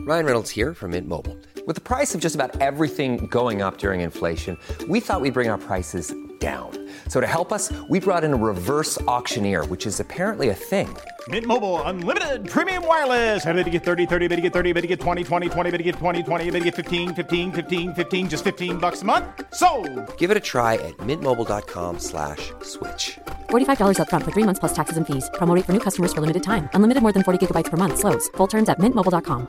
Ryan Reynolds here from Mint Mobile. With the price of just about everything going up during inflation, we thought we'd bring our prices down. So to help us, we brought in a reverse auctioneer, which is apparently a thing. Mint Mobile Unlimited Premium Wireless. How to get 30, 30, bit to get 30, bit to get 20, 20, 20, bit to get 20, 20, bit to get 15, 15, 15, 15, just $15 a month? Sold! Give it a try at mintmobile.com/switch. $45 up front for 3 months plus taxes and fees. Promo rate for new customers for limited time. Unlimited more than 40 gigabytes per month. Slows full terms at mintmobile.com.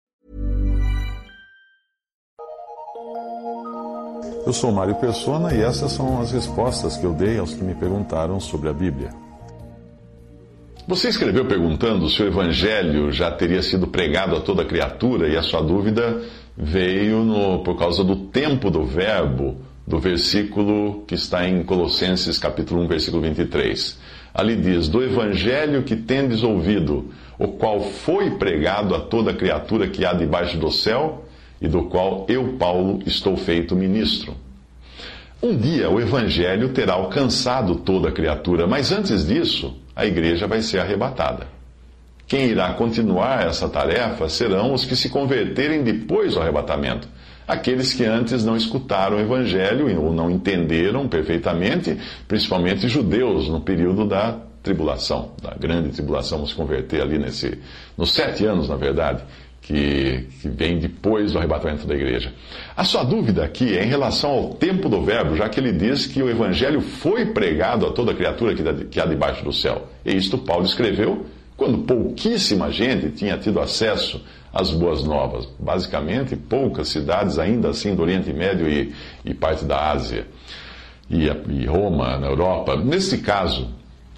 Eu sou Mário Persona e essas são as respostas que eu dei aos que me perguntaram sobre a Bíblia. Você escreveu perguntando se o Evangelho já teria sido pregado a toda criatura e a sua dúvida veio por causa do tempo do verbo do versículo que está em Colossenses capítulo 1, versículo 23. Ali diz, do Evangelho que tendes ouvido, o qual foi pregado a toda criatura que há debaixo do céu, e do qual eu, Paulo, estou feito ministro. Um dia o Evangelho terá alcançado toda criatura, mas antes disso, a igreja vai ser arrebatada. Quem irá continuar essa tarefa serão os que se converterem depois do arrebatamento. Aqueles que antes não escutaram o Evangelho ou não entenderam perfeitamente, principalmente judeus no período da tribulação, da grande tribulação, vamos se converter ali nos 7 anos, na verdade, que vem depois do arrebatamento da igreja. A sua dúvida aqui é em relação ao tempo do verbo, já que ele diz que o Evangelho foi pregado a toda criatura que há debaixo do céu. E isto Paulo escreveu quando pouquíssima gente tinha tido acesso às boas novas. Basicamente, poucas cidades ainda assim do Oriente Médio e parte da Ásia e Roma, na Europa. Nesse caso,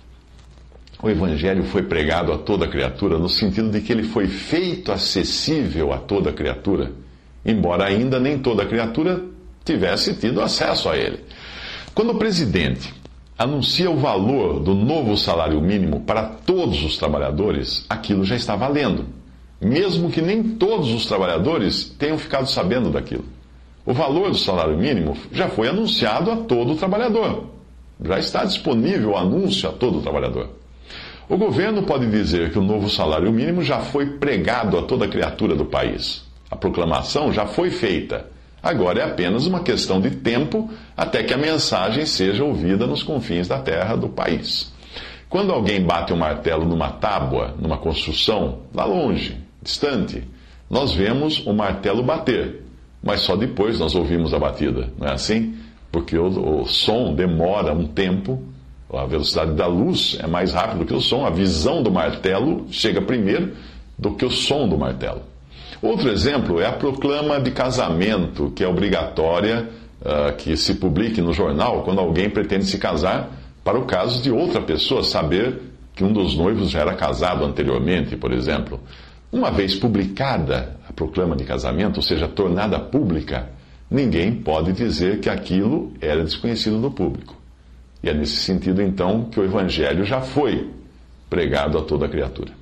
o Evangelho foi pregado a toda criatura no sentido de que ele foi feito acessível a toda criatura, embora ainda nem toda criatura tivesse tido acesso a ele. Quando o presidente anuncia o valor do novo salário mínimo para todos os trabalhadores, aquilo já está valendo, mesmo que nem todos os trabalhadores tenham ficado sabendo daquilo. O valor do salário mínimo já foi anunciado a todo trabalhador. Já está disponível o anúncio a todo trabalhador. O governo pode dizer que o novo salário mínimo já foi pregado a toda criatura do país. A proclamação já foi feita. Agora é apenas uma questão de tempo até que a mensagem seja ouvida nos confins da terra do país. Quando alguém bate um martelo numa tábua, numa construção, lá longe, distante, nós vemos o martelo bater, mas só depois nós ouvimos a batida, não é assim? Porque o som demora um tempo. A velocidade da luz é mais rápida que o som. A visão do martelo chega primeiro do que o som do martelo. Outro exemplo é a proclama de casamento, que é obrigatória que se publique no jornal quando alguém pretende se casar, para o caso de outra pessoa saber que um dos noivos já era casado anteriormente, por exemplo. Uma vez publicada a proclama de casamento, ou seja, tornada pública, ninguém pode dizer que aquilo era desconhecido do público. E é nesse sentido, então, que o Evangelho já foi pregado a toda criatura.